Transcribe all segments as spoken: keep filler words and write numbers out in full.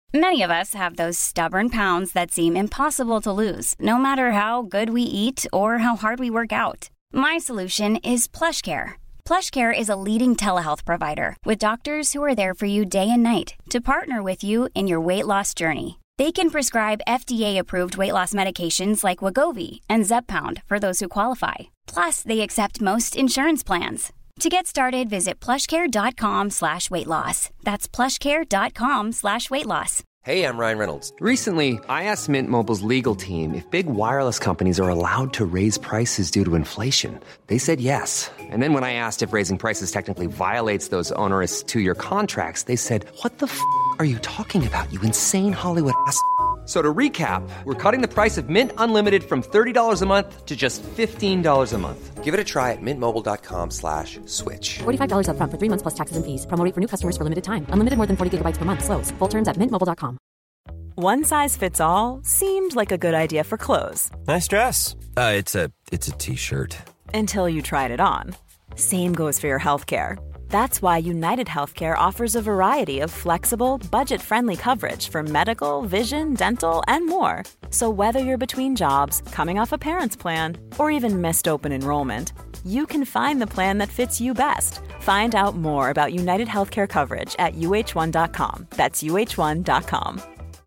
Many of us have those stubborn pounds that seem impossible to lose, no matter how good we eat or how hard we work out. My solution is PlushCare. PlushCare is a leading telehealth provider with doctors who are there for you day and night to partner with you in your weight loss journey. They can prescribe F D A-approved weight loss medications like Wegovy and Zepbound for those who qualify. Plus, they accept most insurance plans. To get started, visit plushcare.com slash weight loss. That's plushcare.com slash weight loss. Hey, I'm Ryan Reynolds. Recently, I asked Mint Mobile's legal team if big wireless companies are allowed to raise prices due to inflation. They said yes. And then when I asked if raising prices technically violates those onerous two-year contracts, they said, what the f*** are you talking about, you insane Hollywood ass f- So to recap, we're cutting the price of Mint Unlimited from thirty dollars a month to just fifteen dollars a month. Give it a try at mintmobile.com slash switch. forty-five dollars up front for three months plus taxes and fees. Promo rate for new customers for limited time. Unlimited more than forty gigabytes per month. Slows full terms at mint mobile dot com. One size fits all seemed like a good idea for clothes. Nice dress. Uh, it's a it's a t-shirt. Until you tried it on. Same goes for your healthcare. That's why United Healthcare offers a variety of flexible, budget-friendly coverage for medical, vision, dental, and more. So whether you're between jobs, coming off a parent's plan, or even missed open enrollment, you can find the plan that fits you best. Find out more about United Healthcare coverage at u h one dot com. That's u h one dot com.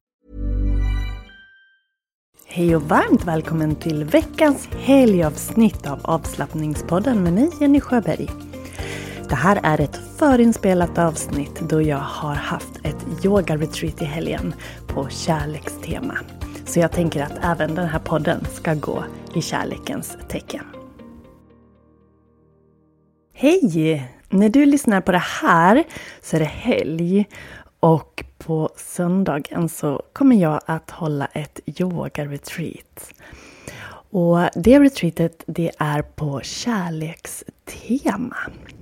Hej och varmt välkommen till veckans helgavsnitt av Avslappningspodden med mig, Jenny Sjöberg. Det här är ett förinspelat avsnitt då jag har haft ett yoga-retreat i helgen på kärlekstema. Så jag tänker att även den här podden ska gå i kärlekens tecken. Hej! När du lyssnar på det här så är det helg och på söndagen så kommer jag att hålla ett yoga-retreat. Och det retreatet det är på kärlekstema.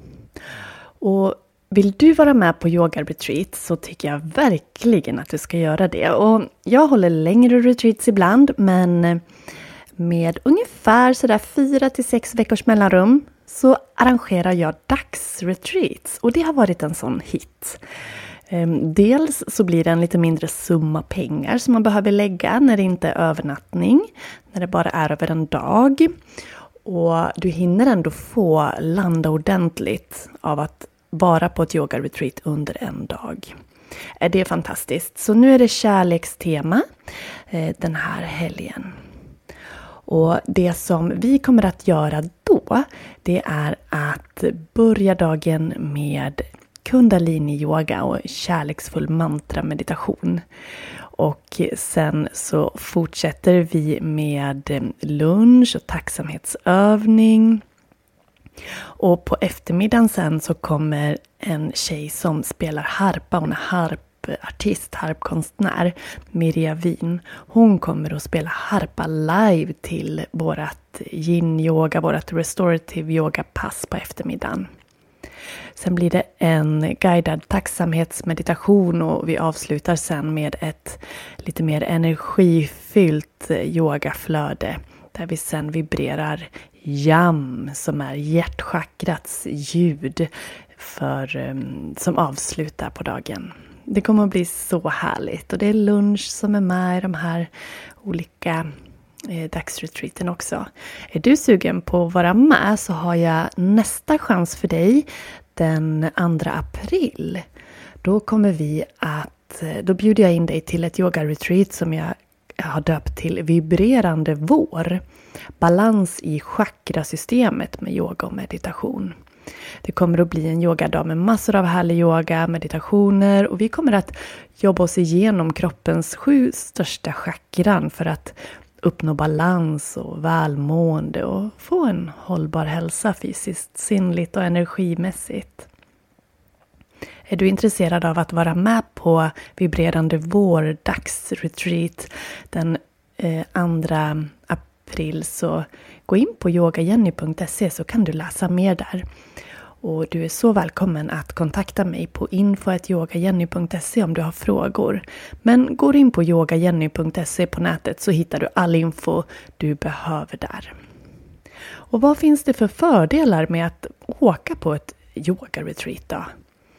Och vill du vara med på yoga-retreat så tycker jag verkligen att du ska göra det. Och jag håller längre retreats ibland, men med ungefär sådär fyra till sex veckors mellanrum så arrangerar jag dagsretreats. Och det har varit en sån hit. Dels så blir det en lite mindre summa pengar som man behöver lägga när det inte är övernattning, när det bara är över en dag. Och du hinner ändå få landa ordentligt av att vara på ett yoga-retreat under en dag. Det är fantastiskt. Så nu är det kärlekstema den här helgen. Och det som vi kommer att göra då, det är att börja dagen med kundalini-yoga och kärleksfull mantra-meditation. Och sen så fortsätter vi med lunch och tacksamhetsövning. Och på eftermiddagen sen så kommer en tjej som spelar harpa. Hon är harpartist, harpkonstnär, Mirja Wien. Hon kommer att spela harpa live till vårat yin-yoga, vårat restorative yoga-pass på eftermiddagen. Sen blir det en guidad tacksamhetsmeditation och vi avslutar sen med ett lite mer energifyllt yogaflöde. Där vi sen vibrerar jam som är hjärtchakrats ljud för, som avslutar på dagen. Det kommer att bli så härligt och det är lunch som är med i de här olika eh, dagsretreaten också. Är du sugen på att vara med så har jag nästa chans för dig den andra april. Då kommer vi att, då bjuder jag in dig till ett yoga-retreat som jag har döpt till Vibrerande vår. Balans i chakrasystemet med yoga och meditation. Det kommer att bli en yogadag med massor av härlig yoga, meditationer och vi kommer att jobba oss igenom kroppens sju största chakran för att uppnå balans och välmående och få en hållbar hälsa fysiskt, sinnligt och energimässigt. Är du intresserad av att vara med på Vibrerande vår dagsretreat den eh, andra april så gå in på yogajenny punkt se så kan du läsa mer där. Och du är så välkommen att kontakta mig på info at yogajenny punkt se om du har frågor. Men går in på yogajenny punkt se på nätet så hittar du all info du behöver där. Och vad finns det för fördelar med att åka på ett yoga-retreat då?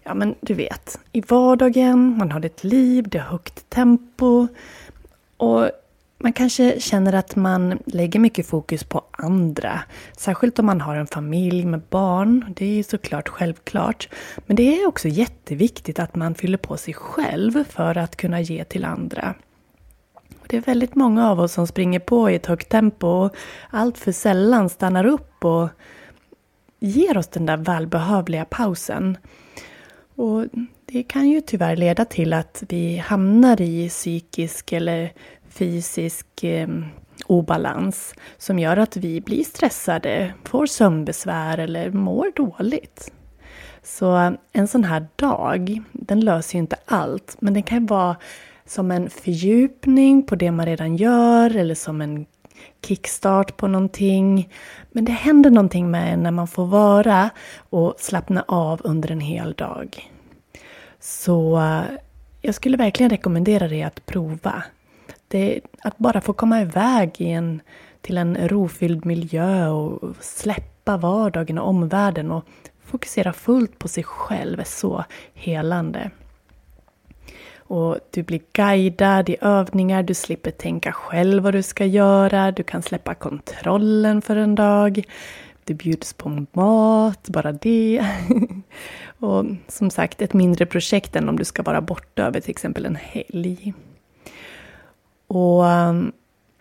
ja men du vet, i vardagen, man har ett liv, det är högt tempo och man kanske känner att man lägger mycket fokus på andra. Särskilt om man har en familj med barn. Det är ju såklart självklart. Men det är också jätteviktigt att man fyller på sig själv för att kunna ge till andra. Det är väldigt många av oss som springer på i ett högt tempo och allt för sällan stannar upp och ger oss den där välbehövliga pausen. Och det kan ju tyvärr leda till att vi hamnar i psykisk eller fysisk eh, obalans som gör att vi blir stressade, får sömnbesvär eller mår dåligt. Så en sån här dag, den löser ju inte allt, men den kan vara som en fördjupning på det man redan gör eller som en kickstart på någonting. Men det händer någonting med en när man får vara och slappna av under en hel dag. Så jag skulle verkligen rekommendera dig att prova. Det, att bara få komma iväg i en, till en rofylld miljö och släppa vardagen och omvärlden och fokusera fullt på sig själv är så helande. Och du blir guidad i övningar, du slipper tänka själv vad du ska göra, du kan släppa kontrollen för en dag, du bjuds på mat, bara det. Och som sagt, ett mindre projekt än om du ska vara borta över till exempel en helg. Och um,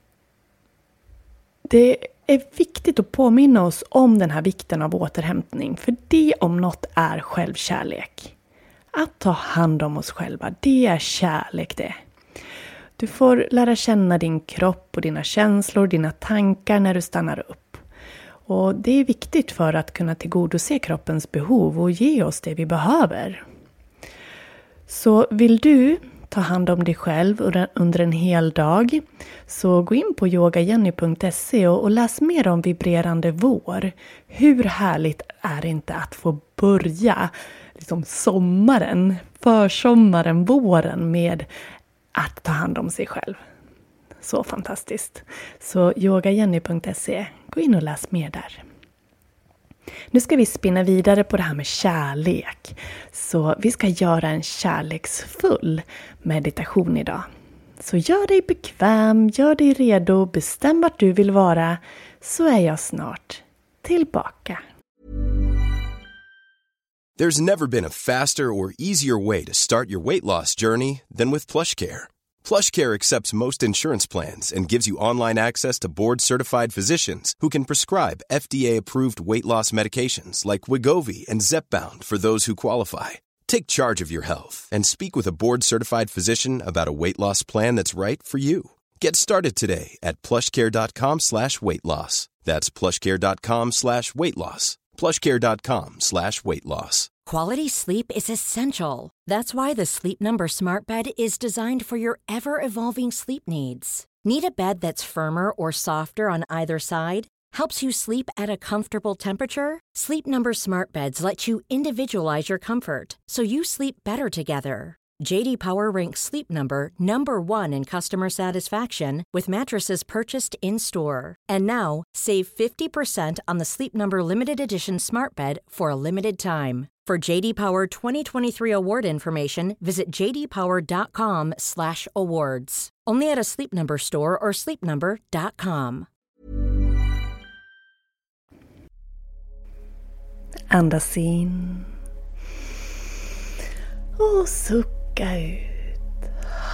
det är viktigt att påminna oss om den här vikten av återhämtning. För det om något är självkärlek. Att ta hand om oss själva, det är kärlek det. Du får lära känna din kropp och dina känslor, dina tankar när du stannar upp. Och det är viktigt för att kunna tillgodose kroppens behov och ge oss det vi behöver. Så vill du ta hand om dig själv under en hel dag, så gå in på yoga jenny punkt se och, och läs mer om vibrerande vår. Hur härligt är det inte att få börja liksom sommaren, försommaren, våren med att ta hand om sig själv. Så fantastiskt. Så yoga jenny punkt se, gå in och läs mer där. Nu ska vi spinna vidare på det här med kärlek. Så vi ska göra en kärleksfull meditation idag. Så gör dig bekväm, gör dig redo, bestäm vart du vill vara, så är jag snart tillbaka. There's never been a faster or easier way to start your weight loss journey than with PlushCare. PlushCare accepts most insurance plans and gives you online access to board-certified physicians who can prescribe F D A-approved weight loss medications like Wegovy and Zepbound for those who qualify. Take charge of your health and speak with a board-certified physician about a weight loss plan that's right for you. Get started today at plushcare.com slash weight loss. That's plushcare.com slash weight loss. plushcare.com slash weight loss. Quality sleep is essential. That's why the Sleep Number Smart Bed is designed for your ever-evolving sleep needs. Need a bed that's firmer or softer on either side? Helps you sleep at a comfortable temperature? Sleep Number Smart Beds let you individualize your comfort, so you sleep better together. J D Power ranks Sleep Number number one in customer satisfaction with mattresses purchased in-store. And now, save fifty percent on the Sleep Number Limited Edition Smart Bed for a limited time. For J D Power twenty twenty-three award information, visit j d power dot com slash awards. Only at a Sleep Number store or sleep number dot com. Andas in. Och sucka ut.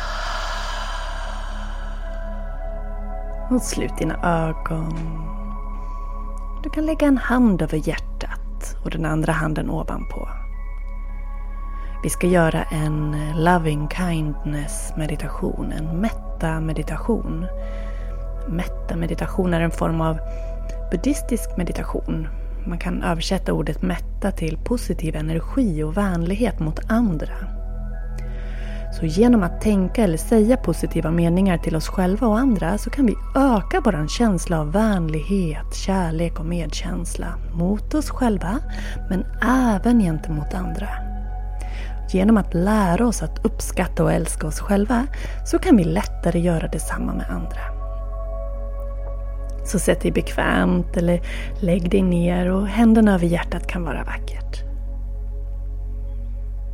Och slut dina ögon. Du kan lägga en hand över hjärtat och den andra handen ovanpå. Vi ska göra en loving kindness meditation, en metta meditation. Metta meditation är en form av buddhistisk meditation. Man kan översätta ordet mätta till positiv energi och vänlighet mot andra. Så genom att tänka eller säga positiva meningar till oss själva och andra så kan vi öka vår känsla av vänlighet, kärlek och medkänsla mot oss själva men även gentemot andra. Genom att lära oss att uppskatta och älska oss själva så kan vi lättare göra detsamma med andra. Så sätt dig bekvämt eller lägg dig ner och händerna över hjärtat kan vara vackert.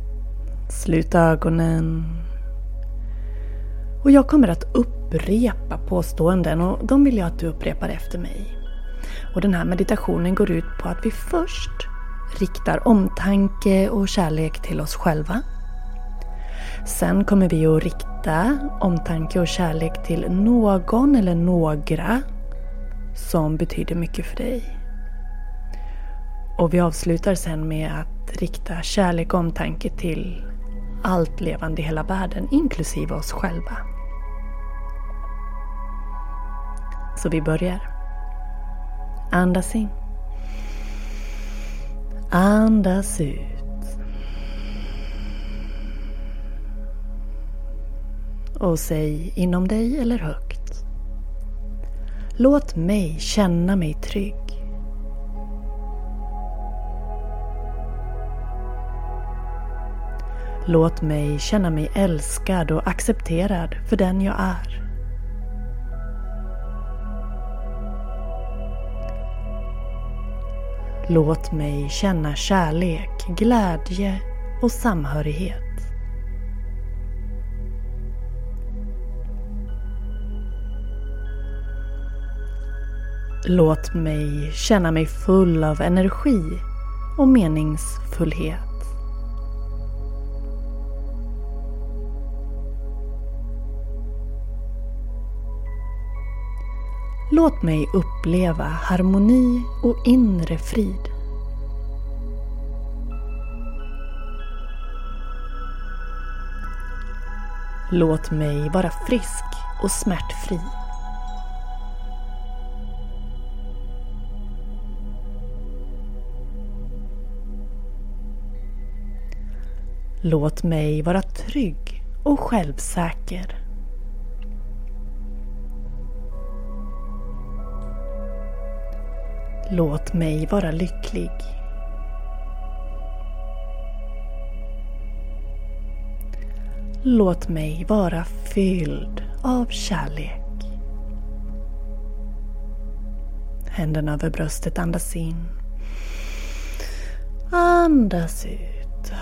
Slut ögonen. Och jag kommer att upprepa påståenden och de vill jag att du upprepar efter mig. Och den här meditationen går ut på att vi först riktar omtanke och kärlek till oss själva. Sen kommer vi att rikta omtanke och kärlek till någon eller några som betyder mycket för dig. Och vi avslutar sen med att rikta kärlek och omtanke till allt levande i hela världen, inklusive oss själva. Så vi börjar. Andas in. Andas ut. Och säg inom dig eller högt. Låt mig känna mig trygg. Låt mig känna mig älskad och accepterad för den jag är. Låt mig känna kärlek, glädje och samhörighet. Låt mig känna mig full av energi och meningsfullhet. Låt mig uppleva harmoni och inre frid. Låt mig vara frisk och smärtfri. Låt mig vara trygg och självsäker. Låt mig vara lycklig. Låt mig vara fylld av kärlek. Händerna över bröstet, andas in. Andas ut.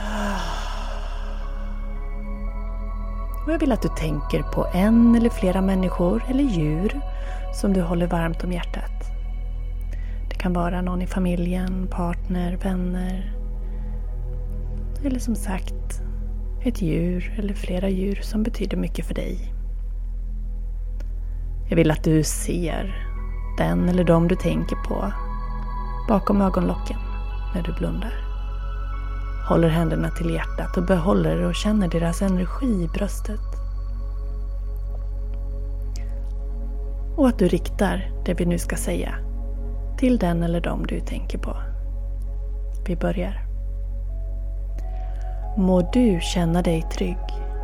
Och jag vill att du tänker på en eller flera människor eller djur som du håller varmt om hjärtat. Det kan vara någon i familjen, partner, vänner. Eller som sagt, ett djur eller flera djur som betyder mycket för dig. Jag vill att du ser den eller de du tänker på bakom ögonlocken när du blundar. Håller händerna till hjärtat och behåller och känner deras energi i bröstet. Och att du riktar det vi nu ska säga till den eller dem du tänker på. Vi börjar. Må du känna dig trygg.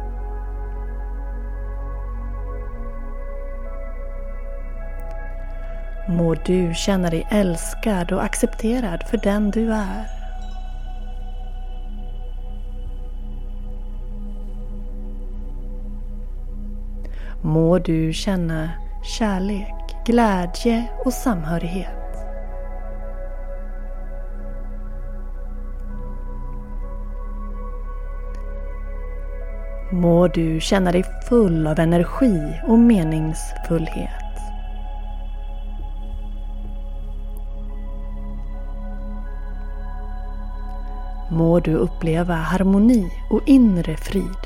Må du känna dig älskad och accepterad för den du är. Må du känna kärlek, glädje och samhörighet. Må du känna dig full av energi och meningsfullhet. Må du uppleva harmoni och inre frid.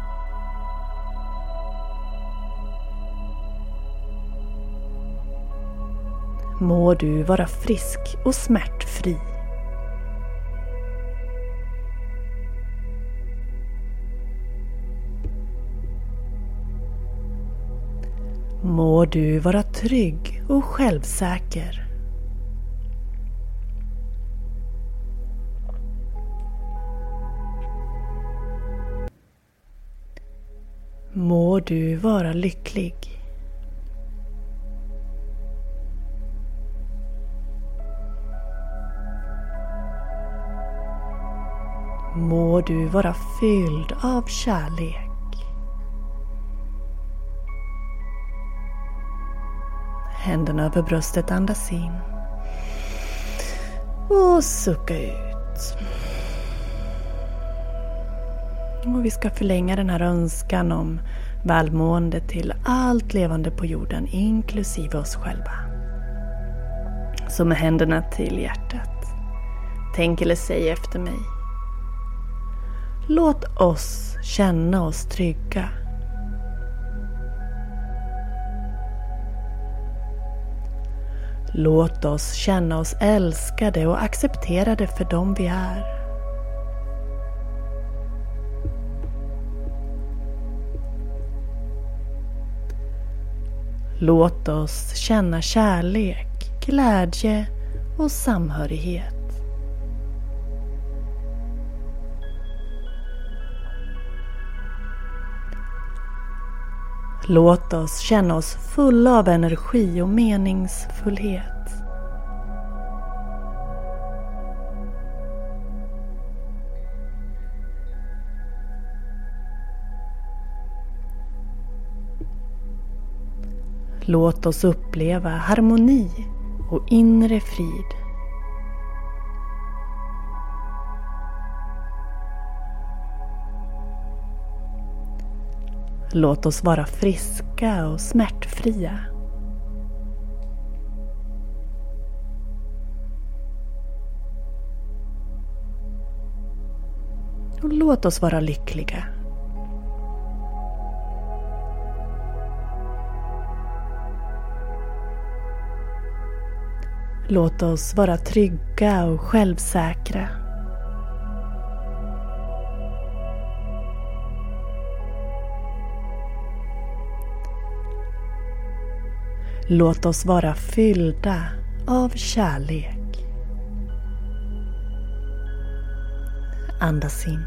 Må du vara frisk och smärtfri. Må du vara trygg och självsäker. Må du vara lycklig. Må du vara fylld av kärlek. Händerna över bröstet, andas in. Och sucka ut. Och vi ska förlänga den här önskan om välmående till allt levande på jorden, inklusive oss själva. Så med händerna till hjärtat, tänk eller säg efter mig. Låt oss känna oss trygga. Låt oss känna oss älskade och accepterade för dem vi är. Låt oss känna kärlek, glädje och samhörighet. Låt oss känna oss fulla av energi och meningsfullhet. Låt oss uppleva harmoni och inre frid. Låt oss vara friska och smärtfria. Och låt oss vara lyckliga. Låt oss vara trygga och självsäkra. Låt oss vara fyllda av kärlek. Andas in.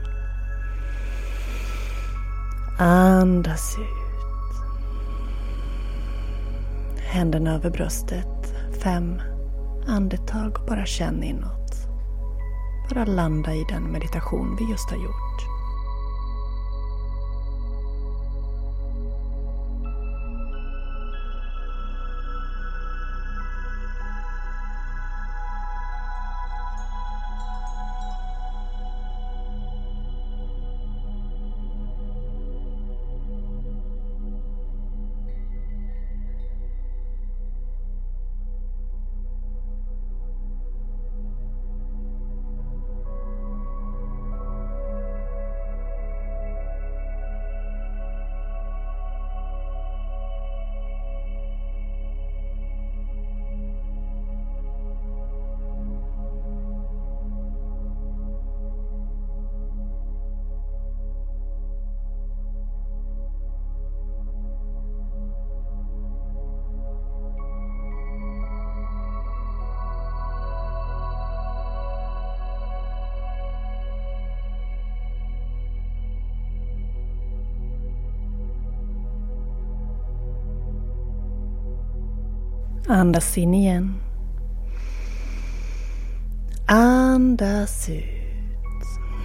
Andas ut. Händerna över bröstet. Fem andetag och bara känn inåt. Bara landa i den meditation vi just har gjort. Andas in igen. Andas ut.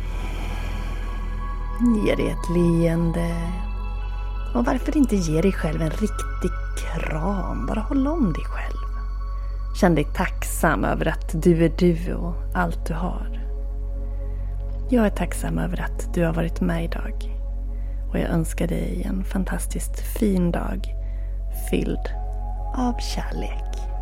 Ge dig ett leende. Och varför inte ge dig själv en riktig kram? Bara håll om dig själv. Känn dig tacksam över att du är du och allt du har. Jag är tacksam över att du har varit med idag. Och jag önskar dig en fantastiskt fin dag fylld av kärlek.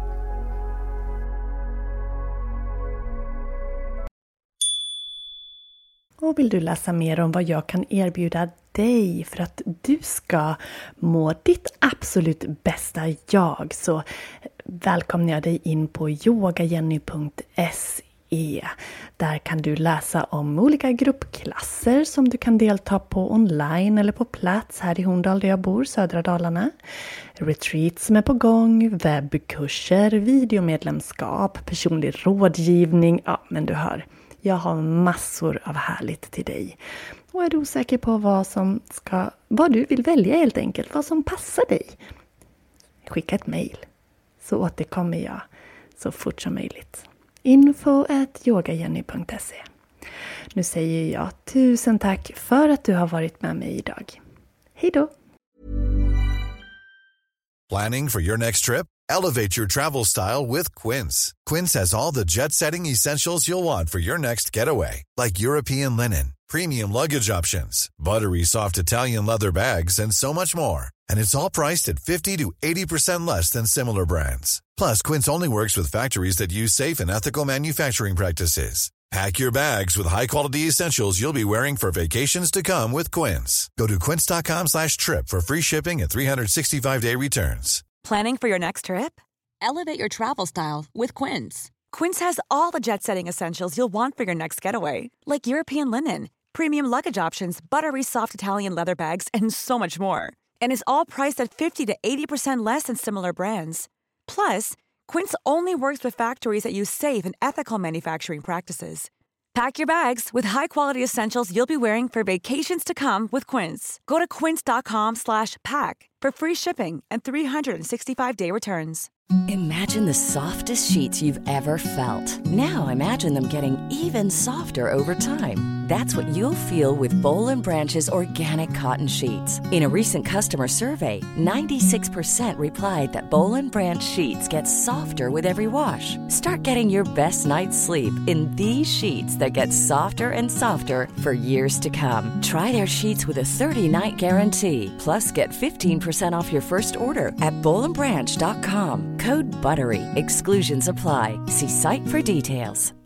Och vill du läsa mer om vad jag kan erbjuda dig för att du ska må ditt absolut bästa jag, så välkomnar jag dig in på yogajenny punkt se. Där kan du läsa om olika gruppklasser som du kan delta på online eller på plats här i Horndal där jag bor, södra Dalarna. Retreats som är på gång, webbkurser, videomedlemskap, personlig rådgivning. Ja, men du hör, jag har massor av härligt till dig. Och är du osäker på vad som ska, vad du vill välja helt enkelt, vad som passar dig, skicka ett mejl så återkommer jag så fort som möjligt. info at yogajenny punkt se. Nu säger jag tusen tack för att du har varit med mig idag. Hej då! Planning for your next trip? Elevate your travel style with Quince. Quince has all the jet-setting essentials you'll want for your next getaway, like European linen, premium luggage options, buttery soft Italian leather bags, and so much more. And it's all priced at fifty to eighty percent less than similar brands. Plus, Quince only works with factories that use safe and ethical manufacturing practices. Pack your bags with high-quality essentials you'll be wearing for vacations to come with Quince. Go to quince.com slash trip for free shipping and three sixty-five day returns. Planning for your next trip? Elevate your travel style with Quince. Quince has all the jet-setting essentials you'll want for your next getaway, like European linen, premium luggage options, buttery soft Italian leather bags, and so much more. And is all priced at fifty to eighty percent less than similar brands. Plus, Quince only works with factories that use safe and ethical manufacturing practices. Pack your bags with high-quality essentials you'll be wearing for vacations to come with Quince. Go to quince.com slash pack for free shipping and three sixty-five day returns. Imagine the softest sheets you've ever felt. Now imagine them getting even softer over time. That's what you'll feel with Boll and Branch's organic cotton sheets. In a recent customer survey, ninety-six percent replied that Boll and Branch sheets get softer with every wash. Start getting your best night's sleep in these sheets that get softer and softer for years to come. Try their sheets with a thirty night guarantee. Plus, get fifteen percent off your first order at boll and branch dot com. Code BUTTERY. Exclusions apply. See site for details.